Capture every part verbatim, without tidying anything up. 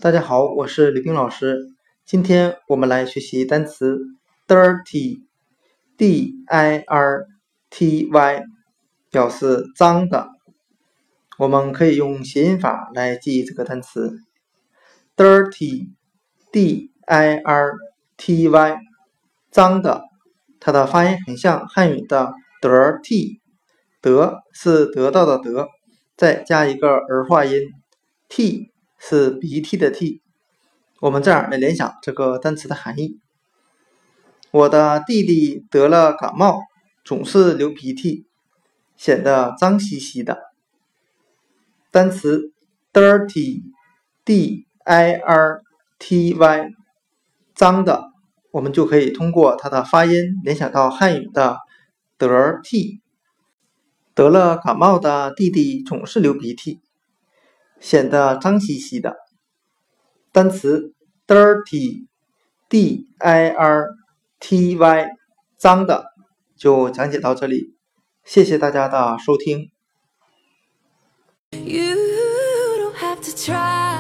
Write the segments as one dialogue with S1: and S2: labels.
S1: 大家好，我是李冰老师。今天我们来学习单词 dirty D I R T Y 表示脏的。我们可以用谐音法来记忆这个单词 dirty D I R T Y 脏的，它的发音很像汉语的得 t， 得是得到的得，再加一个儿化音 t 是鼻涕的涕。我们这样来联想这个单词的含义。我的弟弟得了感冒，总是流鼻涕，显得脏兮兮的。单词 dirty D I R T Y 脏的，我们就可以通过它的发音联想到汉语的得 t。得了感冒的弟弟总是流鼻涕，显得脏兮兮的。单词 dirty D I R T Y 脏的就讲解到这里，谢谢大家的收听。
S2: You don't have to try.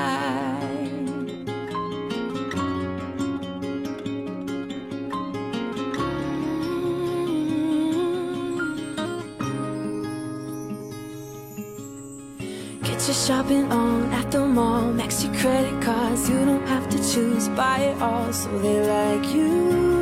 S2: Get your shopping on at the mall, max your credit cards. You don't have to choose, buy it all so they like you.